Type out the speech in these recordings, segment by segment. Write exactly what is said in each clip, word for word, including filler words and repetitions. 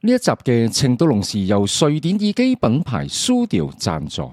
呢一集嘅情到濃時由瑞典耳機品牌 Sudio 贊助。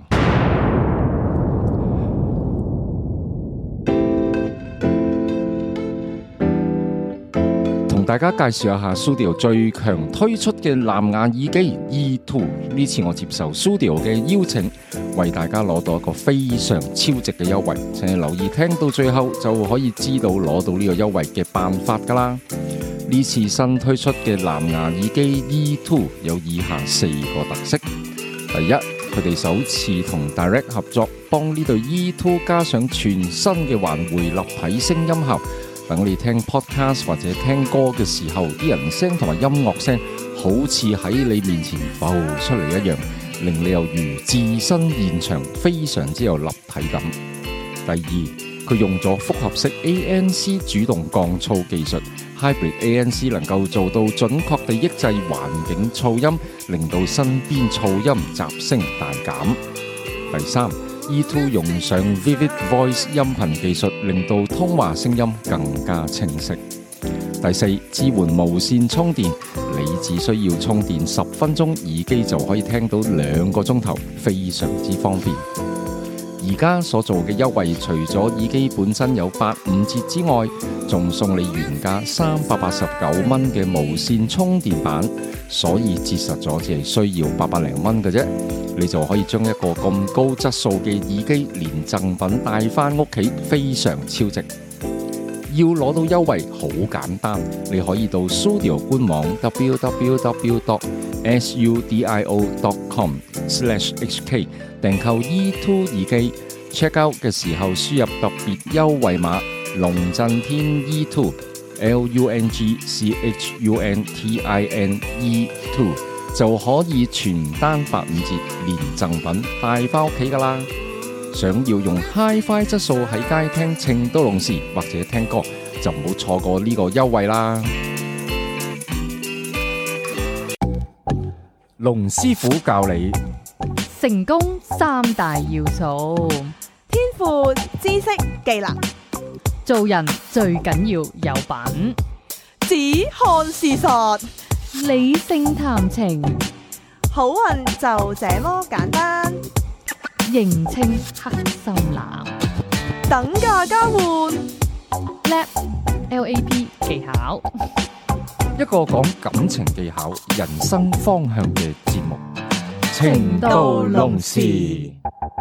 同大家介紹一下 Sudio 最強推出嘅藍牙耳機 E 二。呢次我接受 Sudio 嘅邀請，為大家攞到一個非常超值嘅優惠，請你留意聽到最後就可以知道攞到呢個優惠嘅辦法噶啦。呢次新推出嘅藍牙耳機 E 二有以下四個特色。第一，佢哋首次同 Direct 合作，幫呢對 E 二加上全新嘅環迴立體聲音效。等你聽 podcast 或者聽歌嘅時候，啲人聲同埋音樂聲好似喺你面前浮出嚟一樣，令你猶如置身現場，非常之有立體感。第二，佢用咗複合式 A N C 主動降噪技術 ，Hybrid A N C 能夠做到準確地抑制環境噪音，令到身邊噪音雜聲大減。第三，E 二用上 Vivid Voice 音頻技術，令到通話聲音更加清晰。第四，支援無線充電，你只需要充電十分鐘，耳機就可以聽到兩個鐘頭，非常之方便。而家所做嘅優惠，除咗耳機本身有八五折之外，仲送你原價三百八十九蚊嘅無線充電板，所以折實咗只係需要八百零蚊嘅啫，你就可以將一個咁高質素嘅耳機連贈品帶翻屋企，非常超值。要攞到優惠好簡單，你可以到 Sudio 官網 w w w dot sudio dot com slash h k 訂購 E 二耳機 ，check out 嘅時候輸入特別優惠碼龍震天 E 二 L U N G C H U N T I N E 二就可以全單八五折，連贈品帶翻屋企噶啦。想要用 Hi-Fi 質素喺街聽情到濃時或者聽歌，就唔好錯過呢個優惠啦。龍師傅教你成功三大要素： 天賦、知識、技能。 做人最緊要有品， 只看事實， 理性談情， 好運就這麼簡單。 認清黑心男， 等價交換 Lab L A P 技巧， 一個講感情技巧、人生方向嘅節目。情到濃時，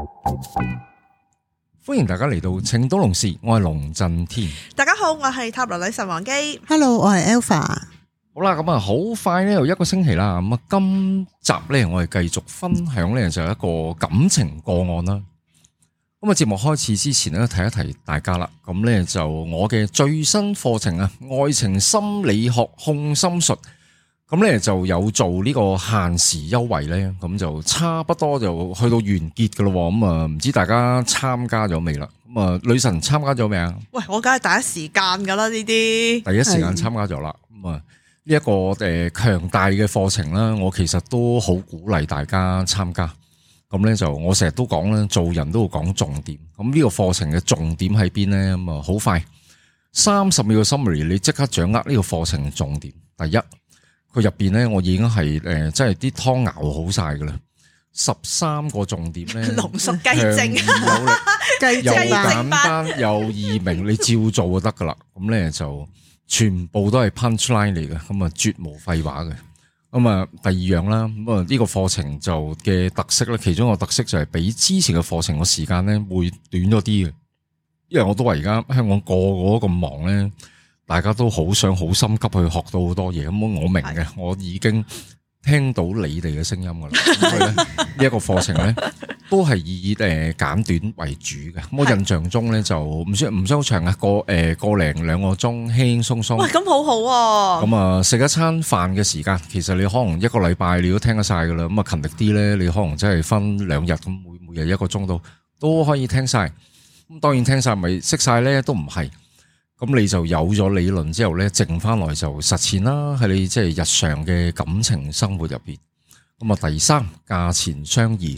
歡迎大家嚟到情到濃時，我係龍震天。 大家好，我係塔羅女神王姬。 Hello，我係 Alpha。 好啦，咁啊，好快咧，又一個星期啦。咁啊，今集咧，我哋繼續分享咧，就係一個感情個案啦。咁啊，節目開始之前咧，提一提大家啦。咁咧就我嘅最新課程啊，愛情心理學控心術，咁咧就有做呢個限時優惠咧，咁就差不多就去到完結噶咯。咁啊，唔知大家參加咗未啦？咁啊，女神參加咗未啊？ 喂，我梗係第一時間噶啦，呢啲第一時間參加咗啦。咁啊。呢一個誒強大嘅課程啦，我其實都好鼓勵大家參加。咁咧就我成日都講咧，做人都要講重點。咁呢個課程嘅重點喺邊咧？咁啊好快，三十秒嘅 summary，你即刻掌握呢個課程嘅重點。第一，佢入邊咧，我已經係誒，即係啲湯熬好晒噶啦，十三個重點咧， 濃縮雞精， 有力，又簡單又易明，你照做就得噶啦。咁咧就。全部都係 punchline 嚟嘅，咁啊絕無廢話嘅。咁啊第二樣啦，咁啊呢個課程就嘅特色咧，其中一個特色就係比之前嘅課程嘅時間咧會短咗啲嘅。因為我都話而家香港個個都咁忙咧，大家都好想好心急去學到好多嘢。咁我明嘅，我已經聽到你哋嘅聲音噶啦。所以咧呢一個課程咧都係以誒簡短為主嘅。我印象中咧就唔算唔算好長啊，個誒個零兩個鐘輕輕鬆鬆。 喂，咁好好喎。咁啊食一餐飯嘅時間，其實你可能一個禮拜你都聽得晒噶啦。咁啊勤力啲咧，你可能真係分兩日咁，每每日一個鐘度都可以聽晒。咁當然聽晒咪識晒咧，都唔係。咁你就有咗理論之後咧，剩翻來就實踐啦，喺你即係日常嘅感情生活入邊。咁啊，第三，價錢相宜。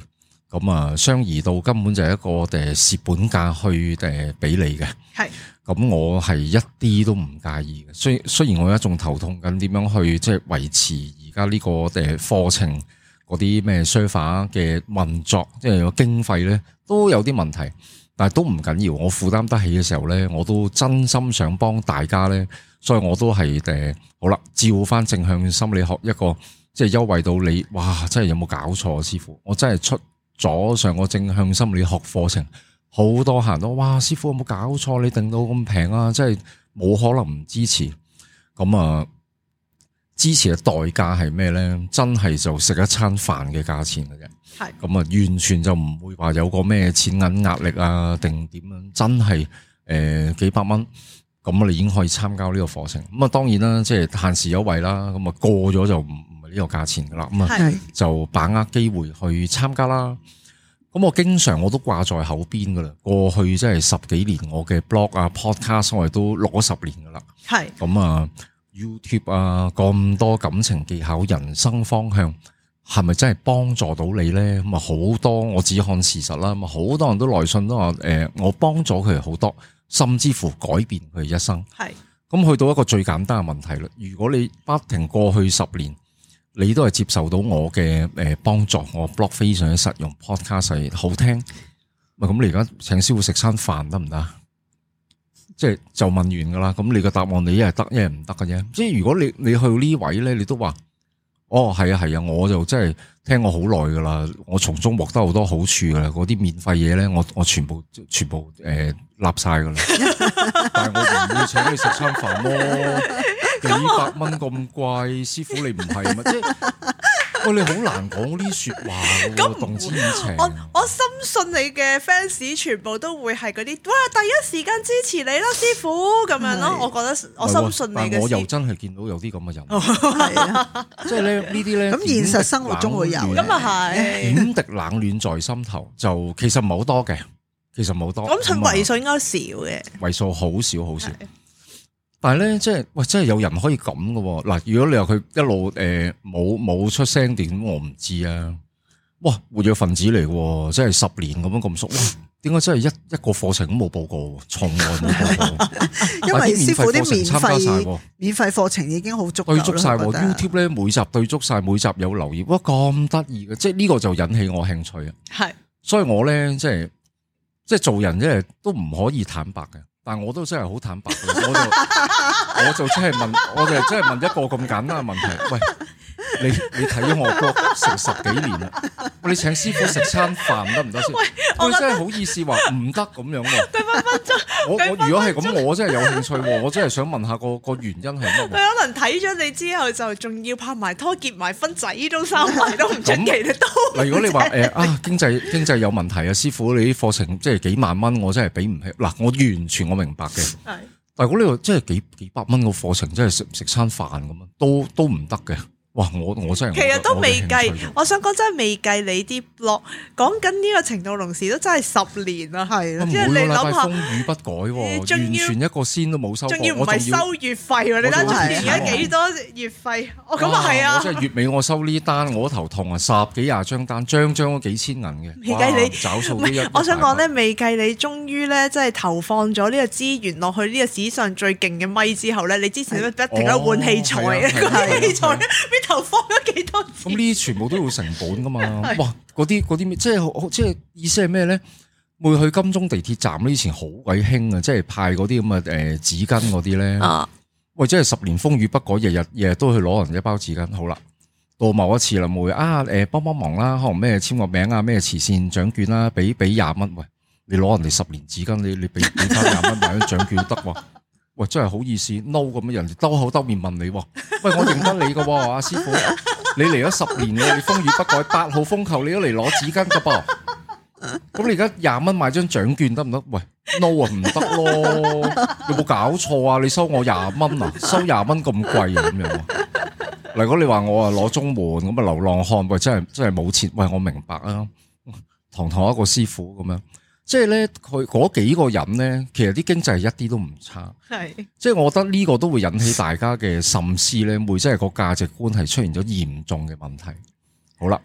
咁啊相宜到根本就係一個誒蝕本價去誒俾你嘅。係，咁我係一啲都唔介意嘅。雖雖然我而家仲頭痛緊點樣去即係維持而家呢個誒課程嗰啲咩 server 嘅運作，即係個經費咧都有啲問題，但係都唔緊要。我負擔得起嘅時候咧，我都真心想幫大家咧，所以我都係誒好啦，照翻正向心理學一個即係優惠到你，哇！真係有冇搞錯啊，師傅？我真係出咗上個正向心理學課程，好多客人都哇，師傅有冇搞錯？你定到咁平啊，真係冇可能唔支持。咁啊〜支持嘅代價係咩咧？真係就食一餐飯嘅價錢嘅啫。係咁啊，完全就唔會話有個咩錢銀壓力啊，定點樣？真係誒、呃、幾百蚊，咁我哋已經可以參加呢個課程。咁啊，當然啦，即係限時優惠啦。咁啊，過咗就唔唔係呢個價錢噶啦。咁啊，就把握機會去參加啦。咁我經常我都掛在口邊噶啦。過去即係十幾年，我嘅 blog 啊、podcast 我哋都攞十年噶啦。係咁啊。YouTube 啊，咁多感情技巧、人生方向，係咪真係幫助到你咧？咁啊，好多我只看事實啦。咁啊，好多人都來信都話，誒、呃，我幫咗佢好多，甚至乎改變佢一生。係咁去到一個最簡單嘅問題啦。如果你不停過去十年，你都係接受到我嘅誒幫助，我 blog 非常之實用 ，podcast 係好聽，咪咁你而家請師傅食餐飯得唔得？即係就問完噶啦，咁你個答案你一係得，一係唔得嘅啫。即係如果你你去呢位咧，你都話，哦係啊係啊，我就真係聽我好耐噶啦，我從中獲得好多好處噶啦，嗰啲免費嘢咧，我我全部全部誒立晒噶啦。但係我唔會請你食餐飯咯，幾百蚊咁貴，師傅你唔係嘛？即係。喂，你好難講呢啲說話嘅，動之以情。 我我深信你嘅 fans 全部都會係嗰啲，哇！第一時間支持你啦，師傅咁樣咯。我覺得我深信你嘅。 但我又真係見到有啲咁嘅人，係啊，即係咧呢啲咧。咁現實生活中會有， 咁啊係。 點滴冷暖在心頭，就其實唔係好多嘅，其實唔係好多。 咁佢為數應該少嘅， 為數好少好少。但係咧，即係喂，真係有人可以咁嘅嗱。如果你話佢一路誒冇冇出聲點，我唔知啊。哇，活躍分子嚟嘅，真係十年咁樣咁熟。哇，點解真係一一個課程都冇報過，從來冇報過。 因為師傅啲免費免費課程已經好足夠啦。 對足晒 YouTube 咧，每集對足晒，每集有留言。哇，咁得意嘅，即係呢個就引起我興趣啊。係，所以我咧即係即係做人，即係都唔可以坦白嘅。但我都真係好坦白，我就我就真係問，我就真係問一個咁簡單嘅問題。喂，你你睇咗我 blog 成十幾年啦，你請師傅食餐飯得唔得先？佢真係好意思話唔得咁樣喎。佢分分鐘，我我如果係咁，我真係有興趣，我真係想問下個個原因係乜？佢可能睇咗你之後，就仲要拍埋拖結埋婚仔都生埋都唔出奇，你都。 嗱，如果你話誒啊經濟經濟有問題啊，師傅你啲課程即係幾萬蚊，我真係俾唔起。嗱，我完全我明白嘅。係，但係如果你話真係幾幾百蚊個課程，真係食食餐飯咁樣，都都唔得嘅。哇！我我真係其實都未計，我想講真係未計你啲 blog 講緊呢個程度，同時都真係十年啦，係啦，即係你諗下，風雨不改，完全一個仙都冇收過，仲要唔係收月費喎？你睇住而家幾多月費？哦，咁啊係啊！ 我真係月尾我收呢單，我頭痛啊，十幾廿張單，張張都幾千銀嘅。 未計你找數都一， 我想講咧，未計你終於咧，即係投放咗呢個資源落去呢個史上最勁嘅咪之後咧，你之前不停喺度換器材嘅，器材投放咗幾多錢？ 咁呢啲全部都要成本噶嘛？哇！嗰啲嗰啲咩？即係即係意思係咩咧？會去金鐘地鐵站呢？以前好鬼興啊！即係派嗰啲咁嘅誒紙巾嗰啲咧。啊！喂，即係十年風雨不改，日日日日都去攞人一包紙巾。好啦，到某一次啦，會啊誒幫幫忙啦，可能咩簽個名啊，咩慈善獎券啦，俾俾廿蚊。喂，你攞人哋十年紙巾，你你俾俾翻廿蚊買張獎券得喎？喂，真係好意思 no 咁樣，人哋兜口兜面問你，喂，我認得你噶，阿師傅，你嚟咗十年嘅，你風雨不改，八號風球你都嚟攞紙巾噶噃，咁你而家廿蚊買張獎券得唔得？喂 no 啊，唔得咯，有冇搞錯啊？你收我廿蚊啊？收廿蚊咁貴啊？咁樣，如果你話我啊攞綜援咁啊流浪漢，喂，真係真係冇錢，喂，我明白啊，堂堂一個師傅咁樣。即係咧，佢嗰幾個人咧，其實啲經濟一啲都唔差。係，即係我覺得呢個都會引起大家嘅深思咧，會即係個價值觀係出現咗嚴重嘅問題。好啦，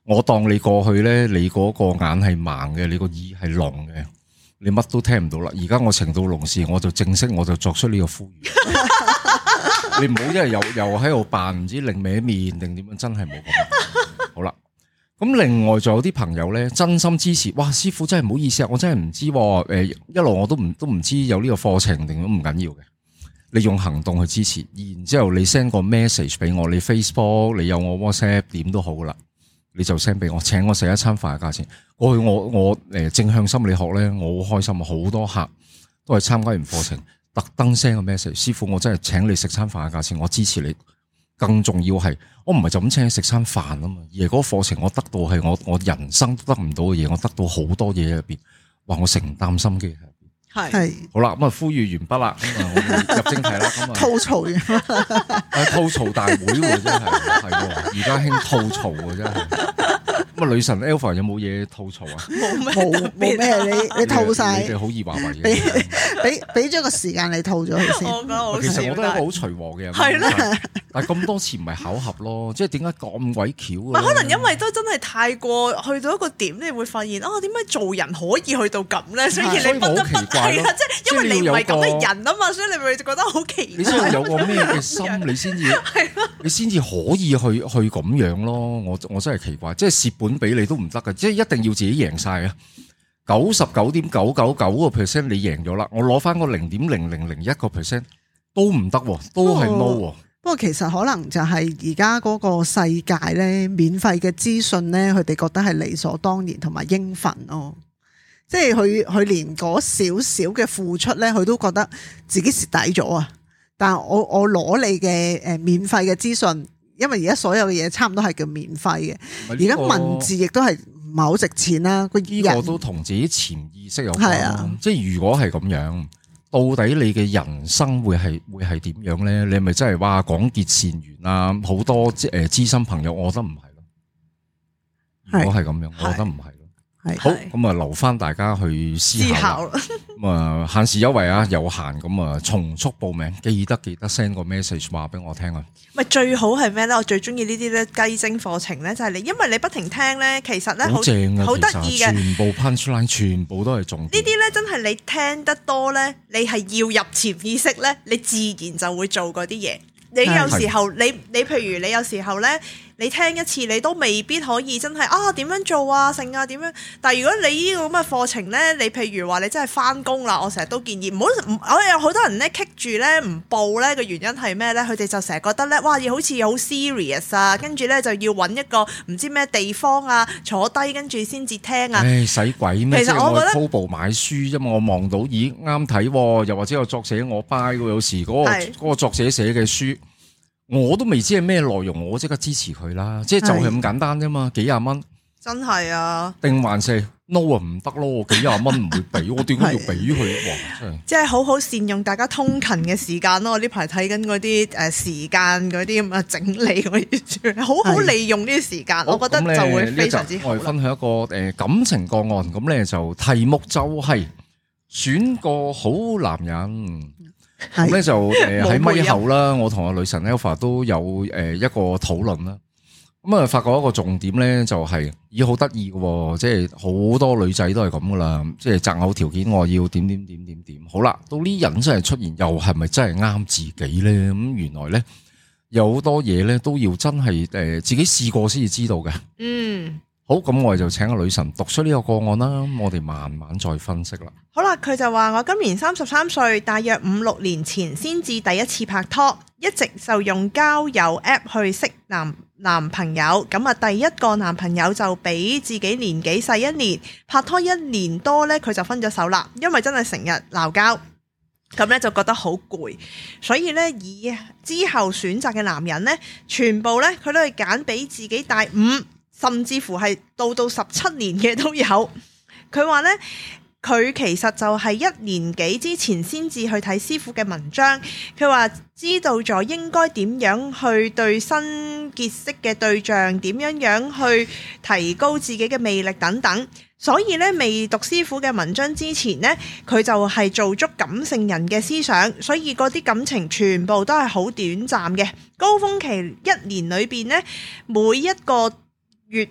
我當你過去咧，你嗰個眼係盲嘅，你個耳係聾嘅，你乜都聽唔到啦。而家我情到濃時，我就正式我就作出呢個呼籲。你唔好因為又又喺度扮唔知另歪面定點樣，真係冇咁。好啦，咁另外仲有啲朋友咧，真心支持。哇，師傅真係唔好意思啊，我真係唔知誒，一路我都唔都唔知有呢個課程定都唔緊要嘅。你用行動去支持，然之後你 send 個 message 俾我，你 Facebook 你有我 WhatsApp 點都好啦，你就 send 俾我，請我食一餐飯嘅價錢。過去我我誒正向心理學咧，我好開心啊，好多客都係參加完課程。特登 send 個 message， 師傅我真係請你食餐飯嘅價錢，我支持你。更重要係，我唔係就咁請你食餐飯啊嘛，而係嗰個課程我得到係我我人生都得唔到嘅嘢，我得到好多嘢入邊，哇！我承擔心機喺入邊。係好啦，咁啊呼籲完畢啦，咁啊我哋入正題啦，咁啊吐槽完， 誒吐槽大會喎，真係係，而家興吐槽喎，真係。咁啊，女神 Alpha 有冇嘢吐槽啊？ 冇咩， 冇冇咩，你你吐晒， 你哋好易話為嘅， 俾俾俾咗個時間你吐咗佢先。 我覺得好其實我都係一個好隨和嘅人， 係啦。 但係咁多次唔係巧合咯，即係點解咁鬼巧？ 可能因為都真係太過去到一個點，你會發現啊，點解做人可以去到咁咧？所以你不得不係啦，即係因為你唔係咁嘅人啊嘛，所以你咪覺得好奇怪。 你先有個咩嘅心，你先至你先至可以去去咁樣咯。我我真係奇怪，即係蝕本俾你都唔得嘅，即係一定要自己贏晒啊！九十九點九九九個 percent 你贏咗啦，我攞翻個零點零零零一個 percent 都唔得，都係 no。 不過其實可能就係而家嗰個世界咧，免費嘅資訊咧，佢哋覺得係理所當然同埋應份咯。即係佢佢連嗰少少嘅付出咧，佢都覺得自己蝕底咗啊！但係我我攞你嘅誒免費嘅資訊。因為而家所有嘅嘢差唔多係叫免費嘅，而家文字亦都係唔係好值錢啦。個呢個都同自己潛意識有關。 係啊， 即係如果係咁樣，到底你嘅人生會係會係點樣咧？你係咪真係話廣結善緣啊？好多誒知心朋友，我覺得唔係咯。如果係咁樣，我覺得唔係咯。好，咁啊留翻大家去思考。咁啊限時優惠啊，有限，咁啊從速報名，記得記得 send 個 message 話俾我聽啊。 咪最好係咩咧？我最中意呢啲咧雞精課程咧，就係你，因為你不停聽咧，其實咧好正啊，好得意嘅， 全部 punchline 全部都係重點。 呢啲咧真係你聽得多咧，你係要入潛意識咧，你自然就會做嗰啲嘢。你有時候你你譬如你有時候咧，你聽一次你都未必可以真係啊點樣做啊成啊點樣？但係如果你呢個咁嘅課程咧，你譬如話你真係翻工啦，我成日都建議唔好唔，我有好多人咧棘住咧唔報咧嘅原因係咩咧？佢哋就成日覺得咧，哇要好似好 serious 啊，跟住咧就要揾一個唔知咩地方啊坐低跟住先至聽啊。 唉使鬼咩？ 其實我覺得去 Kobo 買書啫嘛，我望到咦啱睇，又或者有作者我 buy 喎，有時嗰個嗰個作者寫嘅書。我都未知係咩內容，我即刻支持佢啦！即係就係咁簡單啫嘛，幾廿蚊， 真係啊！ 定還是 no 啊唔得咯，幾廿蚊唔會俾，我點解要俾佢？哇！真係， 即係好好善用大家通勤嘅時間咯。我呢排睇緊嗰啲誒時間嗰啲咁啊整理嗰啲，好好利用呢啲時間，我覺得就會非常之好。 我哋分享一個誒感情個案，咁咧就題目就係選個好男人。咁咧就誒喺咪後啦，我同阿女神 Alpha 都有誒一個討論啦。咁啊發覺一個重點咧就係咦好得意嘅，即係好多女仔都係咁噶啦，即係擇偶條件我要點點點點點。好啦，到呢人真係出現，又係咪真係啱自己咧？咁原來咧有好多嘢咧都要真係誒自己試過先至知道嘅。嗯。好，咁我哋就請個女神讀出呢個個案啦，我哋慢慢再分析啦。 好啦，佢就話我今年三十三歲，大約五六年前先至第一次拍拖，一直就用交友 app 去識男男朋友。咁啊，第一個男朋友就比自己年紀細一年，拍拖一年多呢，佢就分咗手啦，因為真係成日鬧交，咁呢就覺得好攰，所以呢，以之後選擇嘅男人呢，全部呢，佢都係揀比自己大五。甚至乎係到到十七年嘅都有。佢話呢，佢其實就係一年幾之前先至去睇師傅嘅文章。佢話知道咗應該點樣去對新結識嘅對象，點樣樣去提高自己嘅魅力等等。所以呢，未讀師傅嘅文章之前呢，佢就係做足感性人嘅思想，所以嗰啲感情全部都係好短暫嘅。高峰期一年裏邊呢，每一個月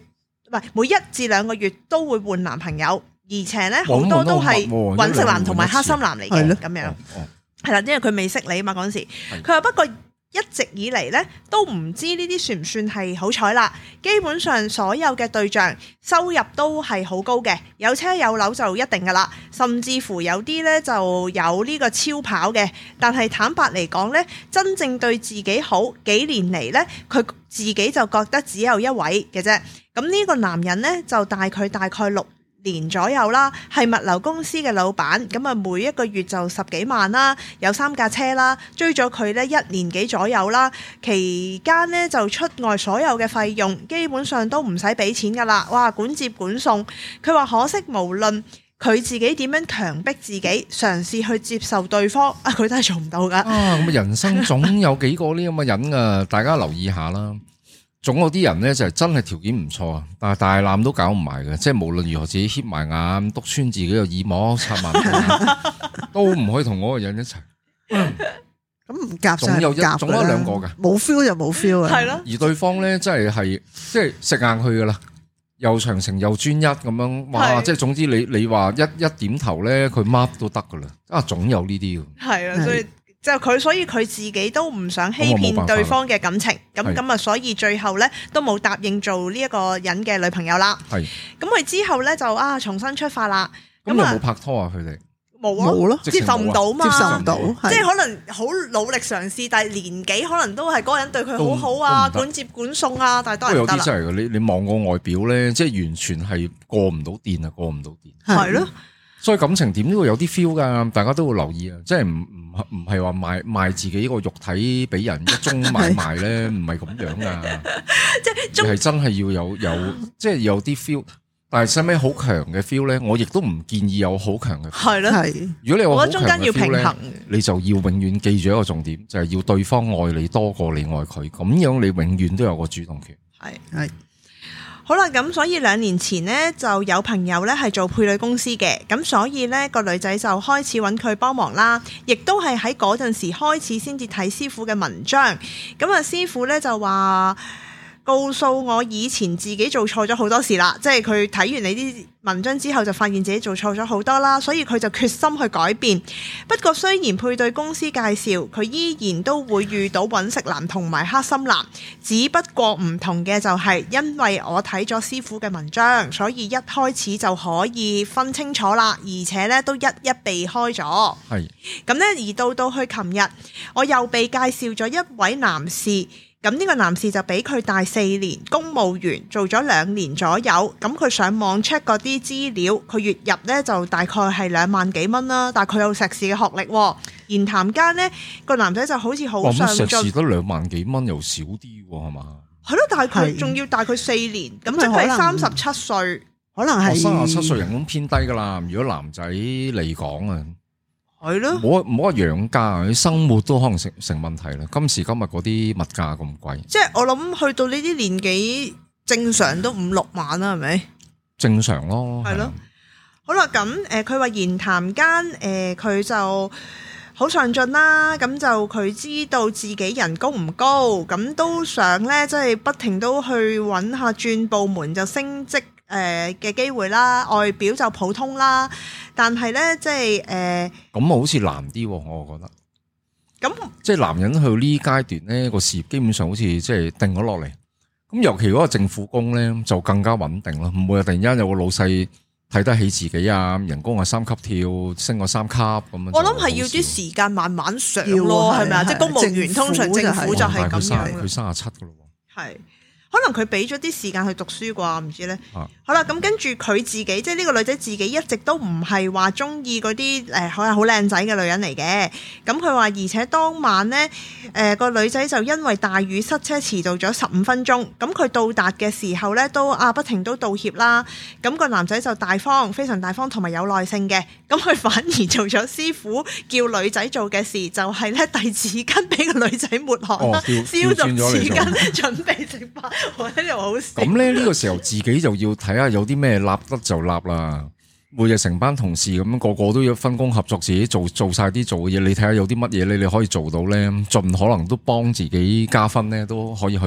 唔係每一至兩個月都會換男朋友，而且咧好多都係搵食男同埋黑心男嚟嘅咁樣，係啦，因為佢未識你啊嘛嗰陣時，佢話不過一直以嚟咧都唔知呢啲算唔算係好彩啦。基本上所有嘅對象收入都係好高嘅，有車有樓就一定噶啦，甚至乎有啲咧就有呢個超跑嘅。但係坦白嚟講咧，真正對自己好幾年嚟咧，佢自己就覺得只有一位嘅啫。咁呢個男人咧就大佢大概六年左右啦，係物流公司嘅老闆，咁啊每一個月就十幾萬啦，有三架車啦，追咗佢呢一年幾左右啦，期間呢就出外所有嘅費用，基本上都唔使俾錢噶啦，哇管接管送，佢話可惜無論佢自己點樣強迫自己嘗試去接受對方，啊佢都係做唔到噶。 啊咁啊，人生總有幾個呢咁嘅人啊，大家留意下啦。總有啲人咧就係真係條件唔錯啊，但係大纜都搞唔埋嘅，即係無論如何自己瞌埋眼，篤穿自己個耳膜，插埋都唔可以同嗰個人一齊。 咁唔夾總有一總有兩個嘅，冇 feel 就冇 feel 啊。 係咯。 而對方咧真係係即係食硬去噶啦，又長情又專一咁樣，哇！即係總之你你話一一點頭咧，佢乜都得噶啦。啊，總有呢啲嘅。係啊，所以。就佢，所以佢自己都唔想欺騙對方嘅感情，咁咁啊，所以最後咧都冇答應做呢一個人嘅女朋友啦。係，咁佢之後咧就啊重新出發啦。 咁有冇拍拖啊？佢哋冇啊，冇咯，接受唔到嘛， 接受唔到， 即係可能好努力嘗試，但係年紀可能都係嗰個人對佢好好啊，管接管送啊，但係都係唔得啦。有啲真係嘅，你你望個外表咧，即係完全係過唔到電啊，過唔到電。 係咯。 所以感情點都會有啲 feel 噶，大家都會留意啊！即係唔唔唔係話賣賣自己個肉體俾人一宗買賣咧，唔係咁樣噶。即係係真係要有有，即係有啲 feel。但係使咩好強嘅 feel 咧？我亦都唔建議有好強嘅 feel。係咯，係。如果你有好強嘅 feel 咧，你就要永遠記住一個重點，就係要對方愛你多過你愛佢，咁樣你永遠都有個主動權。 係係。好啦，咁所以兩年前呢，就有朋友呢係做配對公司嘅，咁所以呢個女仔就開始揾佢幫忙啦，亦都係喺嗰陣時開始先至睇師傅嘅文章，咁啊師傅呢就話告訴我以前自己做錯咗好多事啦，即係佢睇完你啲文章之後就發現自己做錯咗好多啦，所以佢就決心去改變。不過雖然配對公司介紹，佢依然都會遇到搵食男同埋黑心男，只不過唔同嘅就係因為我睇咗師傅嘅文章，所以一開始就可以分清楚啦，而且咧都一一避開咗。係咁咧，而到到去琴日，我又被介紹咗一位男士。咁呢個男士就比佢大四年，公務員做咗兩年左右。咁佢上網 check 嗰啲資料，佢月入呢就大概係兩萬幾蚊啦。但係佢有碩士嘅學歷，言談間呢個男仔就好似好上進。碩士得兩萬幾蚊又少啲係嘛？係咯，但係佢仲要大佢四年，咁即係三十七歲，可能係三十七歲人工偏低噶啦。如果男仔嚟講啊。 係咯， 唔好唔好話養家，你生活都可能成成問題啦。今時今日嗰啲物價咁貴，即係我諗去到呢啲年紀，正常都五六萬啦，係咪？ 正常咯， 係咯。好啦，咁誒，佢話言談間誒，佢就好上進啦。咁就佢知道自己人工唔高，咁都想咧，即係不停都去揾下轉部門就升職誒嘅機會啦。外表就普通啦。但係咧，即係誒，咁好似難啲，我覺得。咁那即係男人去到呢階段咧，個事業基本上好似即係定咗落嚟。咁尤其嗰個政府工咧，就更加穩定咯，唔會突然間有個老細睇得起自己啊，人工啊三級跳，升個三級咁樣。 我諗係要啲時間慢慢上咯，係咪啊？即係公務員通常政府就係咁樣。 佢三十七噶咯。 係。可能佢俾咗啲時間去讀書啩，唔知咧。啊、好啦，咁跟住佢自己，即係呢個女仔自己一直都唔係話中意嗰啲誒，可能好靚仔嘅女人嚟嘅。咁佢話，而且當晚呢，誒、呃、個女仔就因為大雨塞車遲到咗十五分鐘。咁佢到達嘅時候呢，都啊不停都道歉啦。咁、個男仔就大方，非常大方同埋有耐性嘅。咁佢反而做咗師傅叫女仔做嘅事，就係咧遞紙巾俾個女仔抹汗啦，哦、消毒紙巾，準備食飯。我覺得又好笑。咁咧呢個時候自己就要睇下有啲咩立得就立啦。每日成班同事咁樣個個都要分工合作，自己做做晒啲做嘅嘢。你睇下有啲乜嘢你你可以做到咧，盡可能都幫自己加分咧，都可以去做。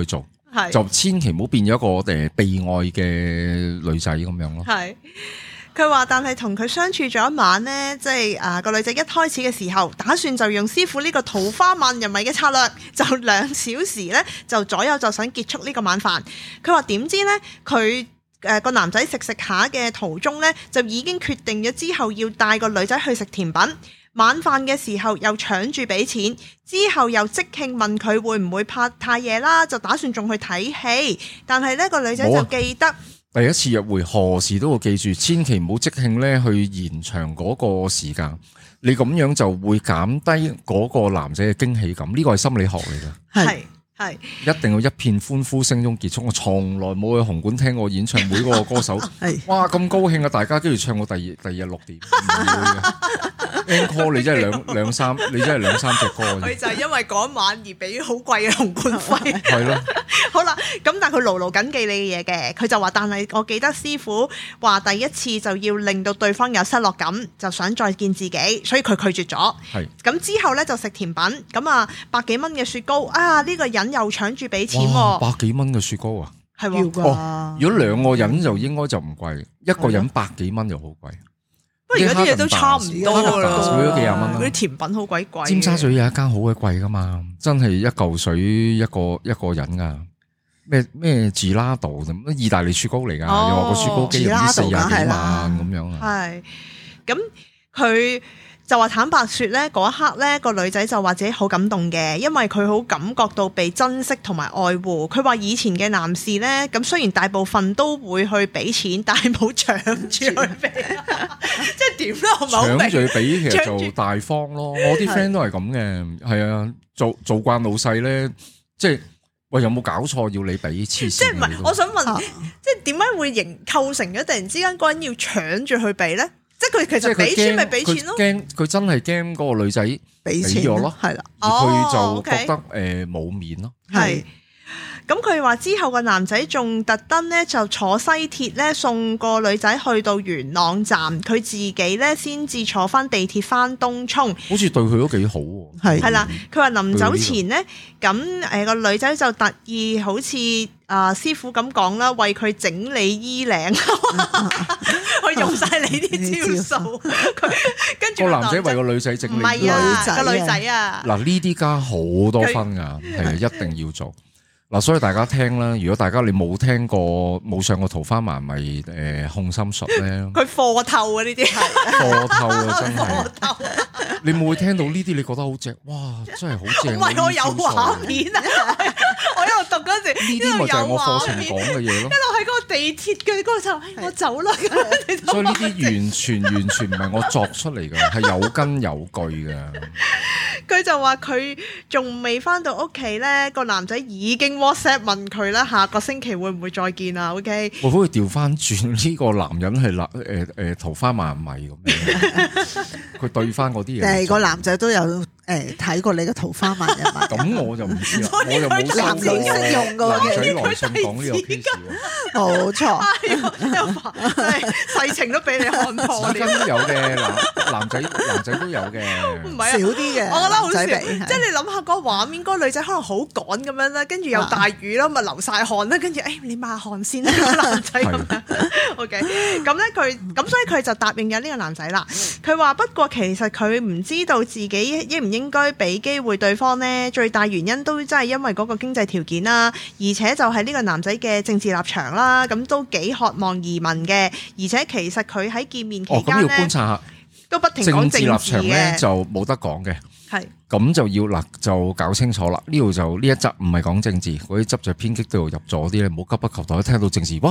係就千祈唔好變咗一個誒被愛嘅女仔咁樣咯。 係。佢話，但係同佢相處咗一晚呢，即係啊個女仔一開始嘅時候，打算就用師傅呢個桃花萬人迷嘅策略，就兩小時呢，就左右就想結束呢個晚飯。佢話點知呢？佢誒個男仔食食下嘅途中呢，就已經決定咗之後要帶個女仔去食甜品。晚飯嘅時候又搶住俾錢，之後又即興問佢會唔會怕太夜啦，就打算仲去睇戲。但係呢個女仔就記得。 第一次約會何時都會記住，千祈唔好即興咧去延長嗰個時間，你咁樣就會減低嗰個男仔嘅驚喜感，呢個係心理學嚟嘅。 係係一定要一片歡呼聲中結束。我從來冇去紅館聽過演唱會嗰個歌手，哇咁高興啊！大家跟住唱過第二第二日六點，唔會嘅。Encore 你真係兩兩三，你真係兩三隻歌。 佢就係因為嗰晚而俾好貴嘅紅館費。 係咯。 好啦，咁但係佢牢牢緊記你嘅嘢嘅，佢就話：但係我記得師傅話第一次就要令到對方有失落感，就想再見自己，所以佢拒絕咗。係。咁之後咧就食甜品，咁啊百幾蚊嘅雪糕啊，呢個人又搶住俾錢喎。 百幾蚊嘅雪糕啊？ 係喎。 哦，如果兩個人就應該就唔貴，一個人百幾蚊就好貴。 不過而家啲嘢都差唔多啦， 少咗幾廿蚊。 嗰啲甜品好鬼貴。 尖沙咀有一間好鬼貴噶嘛，真係一嚿水一個一個人噶。咩咩治拉道咁，意大利雪糕嚟噶，哦、又話個雪糕機唔知四廿幾萬咁樣啊。係， 咁佢就話坦白說咧，嗰一刻咧個女仔就話自己好感動嘅，因為佢好感覺到被珍惜同埋愛護。佢話以前嘅男士咧，咁雖然大部分都會去俾錢，但係冇搶住去俾，即係點咧？我唔係好明。 搶住去俾其實就大方咯。我啲 friend 都係咁嘅，係啊，做做慣老細咧，即係。喂，有冇搞錯要你俾黐線？ 即係唔係？我想問，啊、即係點解會形構成咗突然之間嗰人要搶住去俾咧？即係佢其實俾錢咪俾錢咯？驚佢真係驚嗰個女仔俾咗咯，係啦，而佢就覺得誒冇面咯，係。咁佢話之後個男仔仲特登咧就坐西鐵咧送個女仔去到元朗站，佢自己咧先至坐翻地鐵翻東涌。好似對佢都幾好喎。係係啦，佢話臨走前咧，咁誒個女仔就特意好似啊師傅咁講啦，為佢整理衣領，佢用晒你啲招數。佢跟住個男仔為個女仔整理，唔係啊個女仔啊。嗱呢啲加好多分㗎，係一定要做。嗱，所以大家聽啦，如果大家你冇聽過冇上過桃花麻咪誒控心術咧，佢課透啊呢啲係課透啊真係，你冇會聽到呢啲你覺得好正，哇真係好正，唔係我有畫面啊，我一路讀嗰時呢啲咪就係我課程講嘅嘢咯，一路喺嗰個地鐵嘅嗰個就我走啦，所以呢啲完全完全唔係我作出嚟嘅，係有根有據嘅。佢就話佢仲未翻到屋企咧，個男仔已經 WhatsApp 問佢啦，下個星期會唔會再見啊 ？OK，我可以調翻轉呢個男人係嗱誒誒桃花萬迷咁樣，佢對翻嗰啲嘢。誒個男仔都有誒睇過你嘅桃花萬人迷，咁我就唔知啦，我又冇男女適用嘅男仔來信講呢個 case，冇錯，真係世情都俾你看破了。都有嘅男男仔男仔都有嘅，唔係少啲嘅，我覺得好少。即係你諗下嗰個畫面，嗰個女仔可能好趕咁樣啦，跟住又大雨啦，咪流晒汗啦，跟住誒你抹汗先啦，男仔咁樣。OK，咁咧佢咁所以佢就答應咗呢個男仔啦。佢話不過其實佢唔知道自己應唔應該俾機會對方呢，最大原因都真係因為嗰個經濟條件啦，而且就係呢個男仔嘅政治立場啦，咁都幾渴望移民嘅，而且其實佢喺見面期間咧，哦、要觀察下都不停講政治立場咧，就冇得講嘅。係咁就要嗱就搞清楚啦。呢度就呢一集唔係講政治，嗰啲執着偏激度入咗啲咧，唔好急不及待聽到政治哇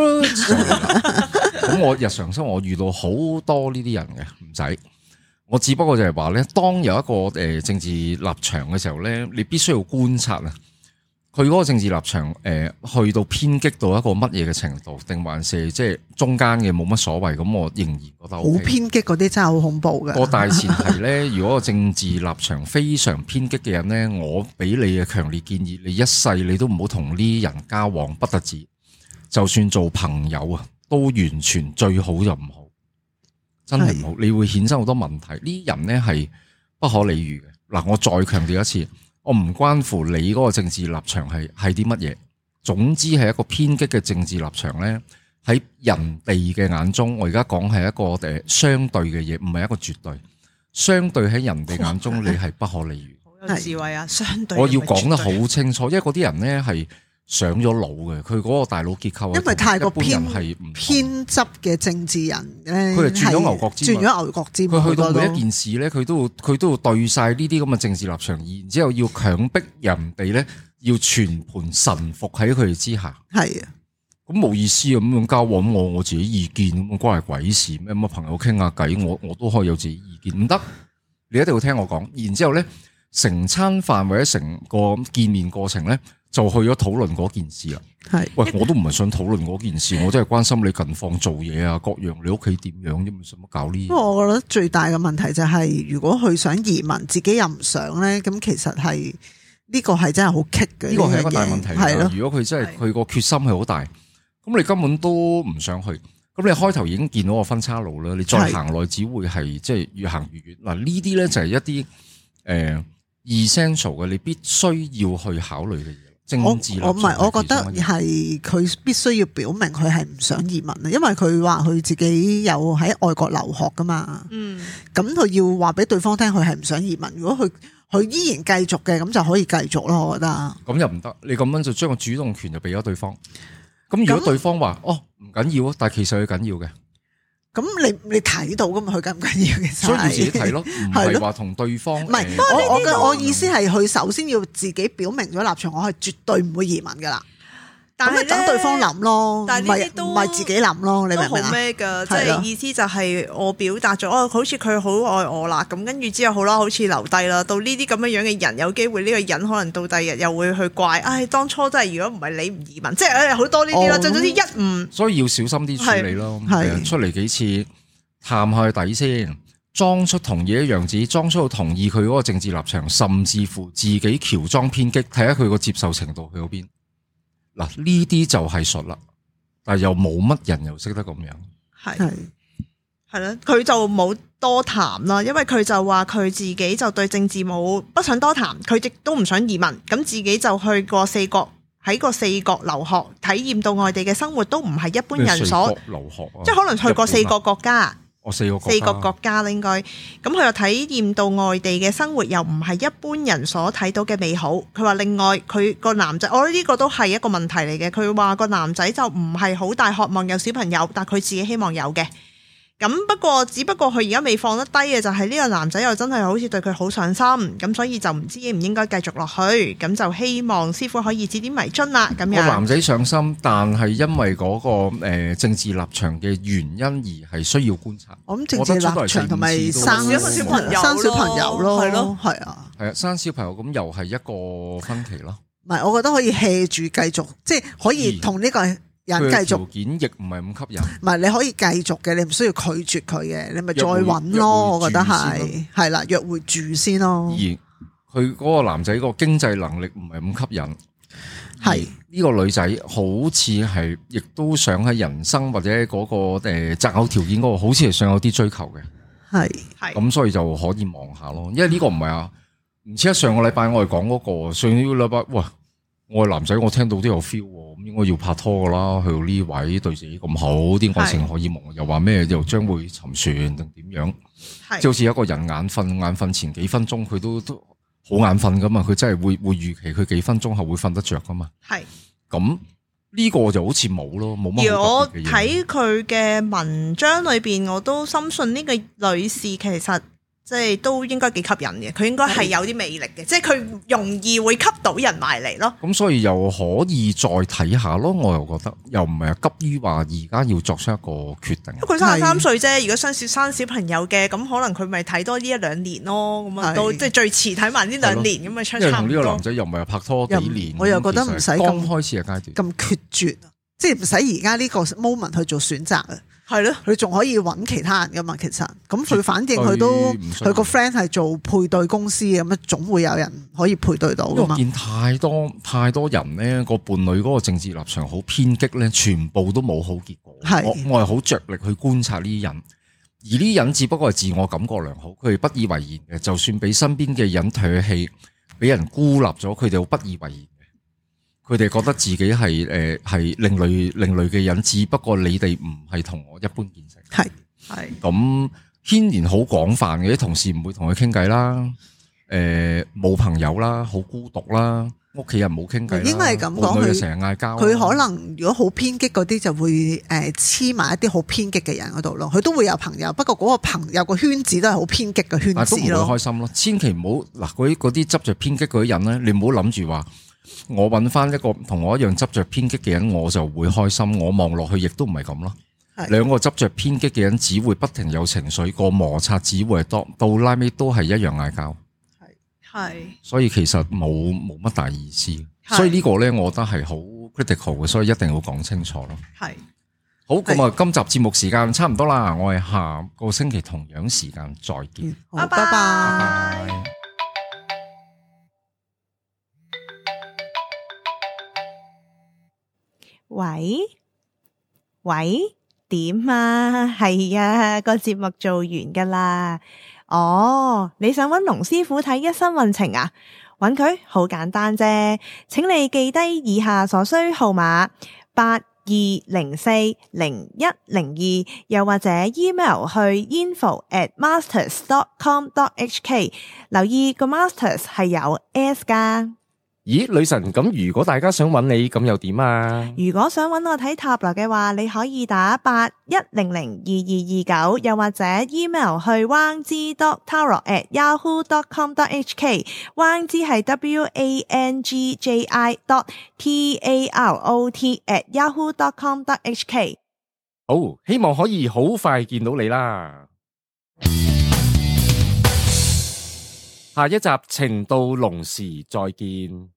咁。我日常生活我遇到好多呢啲人嘅，唔使。我只不過就係話咧，當有一個誒政治立場嘅時候咧，你必須要觀察啊。佢嗰個政治立場誒、呃，去到偏激到一個乜嘢嘅程度，定還是即係中間嘅冇乜所謂？咁我仍然覺得好、OK、偏激嗰啲真係好恐怖嘅。個大前提咧，如果個政治立場非常偏激嘅人咧，我俾你嘅強烈建議，你一世你都唔好同呢啲人交往，不得止，就算做朋友啊，都完全最好就唔好，真係唔好，你會衍生好多問題。呢啲人咧係不可理喻嘅。嗱，我再強調一次。我唔關乎你嗰個政治立場係係啲乜嘢， 總之係一個偏激嘅政治立場咧，喺人哋嘅眼中，我而家講係一個誒相對嘅嘢，唔係一個絕對。相對喺人哋眼中，你係不可理喻。 好有智慧啊！相對， 我要講得好清楚，因為嗰啲人咧係上咗腦嘅，佢嗰個大腦結構， 因為太過偏係偏執嘅政治人咧， 佢係轉咗牛角尖， 轉咗牛角尖。 佢去到每一件事咧，佢都會佢都會對晒呢啲咁嘅政治立場，然之後要強迫人哋咧要全盤臣服喺佢哋之下。係啊。咁冇意思啊！咁樣交往我我自己意見咁關係鬼事咩？咁啊朋友傾下偈，我我都可以有自己意見，唔得，你一定要聽我講。然之後咧，成餐飯或者成個見面過程咧，就去咗討論嗰件事啦。係，喂，我都唔係想討論嗰件事，我真係關心你近況做嘢啊，各樣你屋企點樣啫？使乜搞呢？ 不過我覺得最大嘅問題就係、是，如果佢想移民，自己又唔想咧，咁其實係呢、這個係真係好棘嘅。呢個係一個大問題。係咯，如果佢真係佢個決心係好大。咁你根本都唔想去，咁你開頭已經見到個分岔路啦，你再行落只會係即係越行越遠。嗱呢啲咧就係一啲誒 essential 嘅，你必須要去考慮嘅嘢。政治我唔係，我覺得係佢必須要表明佢係唔想移民啊，因為佢話佢自己有喺外國留學噶嘛。嗯，咁佢要話俾對方聽，佢係唔想移民。如果佢佢依然繼續嘅，咁就可以繼續咯。我覺得咁又唔得，你咁樣就將個主動權就俾咗對方。咁如果對方話哦唔緊要啊，但係其實佢緊要嘅，咁你你睇到噶嘛？佢緊唔緊要嘅，所以要自己睇咯，唔係話同對方。唔係，我我嘅我意思係佢首先要自己表明咗立場，我係絕對唔會移民噶啦。但係等對方諗咯，但係呢啲都唔係自己諗咯，你明唔明啊？咩噶？即係意思就係我表達咗，哦，好似佢好愛我啦，咁跟住之後好啦，好似留低啦。到呢啲咁樣樣嘅人，有機會呢個人可能到第日又會去怪，唉，當初真係如果唔係你唔移民，即係誒好多呢啲啦。就總之一唔，所以要小心啲處理咯。係出嚟幾次探下底先，裝出同意嘅樣子，裝出同意佢嗰個政治立場，甚至乎自己喬裝偏激，睇下佢個接受程度去到邊。嗱，呢啲就係術啦，但係又冇乜人又識得咁樣，係係啦，佢就冇多談啦，因為佢就話佢自己就對政治冇不想多談，佢亦都唔想移民，咁自己就去過四國，喺個四國留學，體驗到外地嘅生活都唔係一般人所留學，即係可能去過四個國家。哦、四個國家四個國家啦，應該咁佢又體驗到外地嘅生活，又唔係一般人所睇到嘅美好。佢話另外佢個男仔，我覺得呢個都係一個問題嚟嘅。佢話個男仔就唔係好大渴望有小朋友，但佢自己希望有嘅。咁不過只不過佢而家未放得低嘅就係呢個男仔又真係好似對佢好上心，咁所以就唔知應唔應該繼續落去，咁就希望師傅可以指點迷津啦。咁樣個男仔上心，但係因為嗰個誒政治立場嘅原因而係需要觀察。我諗政治立場同埋生小朋友生小朋友咯，係咯，係啊，係啊，生小朋友咁又係一個分歧咯。唔係，我覺得可以 hea 住繼續，即係可以同呢個人繼續，條件亦唔係咁吸引。唔係，你可以繼續嘅，你唔需要拒絕佢嘅，你咪再揾咯。我覺得係係啦，約會住先咯。而佢嗰個男仔個經濟能力唔係咁吸引，係呢個女仔好似係亦都想喺人生或者嗰個誒擇偶條件嗰個，好似係想有啲追求嘅。係係咁，所以就可以望下咯。因為呢個唔係啊，唔似得上個禮拜我哋講嗰個，上個禮拜喂。我係男仔，我聽到都有 feel，咁應該要拍拖噶啦。去到呢位對自己咁好，啲愛情可以夢，又話咩又將會沉船定點樣？即好似一個人眼瞓，眼瞓前幾分鐘佢都都好眼瞓噶嘛，佢真係會會預期佢幾分鐘後會瞓得着噶嘛。係咁呢個就好似冇咯，冇乜。而我睇佢嘅文章裏邊，我都深信呢個女士其實。即係都應該幾吸引嘅，佢應該係有啲魅力嘅，即係佢容易會吸到人埋嚟咯。咁所以又可以再睇下咯，我又覺得又唔係急於話而家要作出一個決定。佢三十三歲啫，如果生小生小朋友嘅，咁可能佢咪睇多呢一兩年咯。咁啊，到即係最遲睇埋呢兩年咁啊，出差唔多。因為同呢個男仔又唔係拍拖幾年，我又覺得唔使咁開始嘅階段咁決絕，即係唔使而家呢個 moment 去做選擇啊。係咯，佢仲可以揾其他人噶嘛？其實咁佢反正佢都佢個 friend 係做配對公司嘅，咁總會有人可以配對到噶嘛。我見太多太多人咧，個伴侶嗰個政治立場好偏激咧，全部都冇好結果。係我我係好着力去觀察呢啲人，而呢啲人只不過係自我感覺良好，佢哋不以為然嘅。就算俾身邊嘅人唾棄，俾人孤立咗，佢哋好不以為然嘅。 佢哋覺得自己係誒係另類另類嘅人，只不過你哋唔係同我一般見識。 係係咁牽連好廣泛嘅，啲同事唔會同佢傾偈啦，誒、呃、冇朋友啦，好孤獨啦，屋企人冇傾偈啦， 應該係咁講，佢成日嗌交。 佢可能如果好偏激嗰啲，就會誒黐埋一啲好偏激嘅人嗰度咯。佢都會有朋友，不過嗰個朋友個圈子都係好偏激嘅圈子咯。 都唔會開心咯，千祈唔好嗱嗰啲嗰啲執着偏激嗰啲人咧，你唔好諗住話。我揾翻一個同我一樣執着偏激嘅人，我就會開心。我望落去亦都唔係咁咯。兩個執着偏激嘅人，只會不停有情緒，個摩擦只會係多到拉尾都係一樣嗌交。 係係， 所以其實冇冇乜大意思。所以呢個咧，我覺得係好 critical 嘅，所以一定要講清楚咯。係好咁啊！今集節目時間差唔多啦，我哋下個星期同樣時間再見。 好，拜拜。 喂喂，點啊？係啊，個節目做完噶啦。哦，你想揾龍師傅睇一生運程啊？揾佢好簡單啫，請你記低以下所需號碼八二零四零一零二，又或者 email 去 info at masters dot com dot h k。留意個 masters 係有 s 噶。 咦，女神，咁如果大家想揾你，咁又點啊？ 如果想揾我睇塔羅嘅話，你可以打八一零零二二二九，又或者 email 去 wang zi dot tarot at yahoo dot com dot h k。wang zi 係 w a n g j i dot t a r o t at yahoo dot com dot h k。 好，希望可以好快見到你啦。下一集情到濃時再見。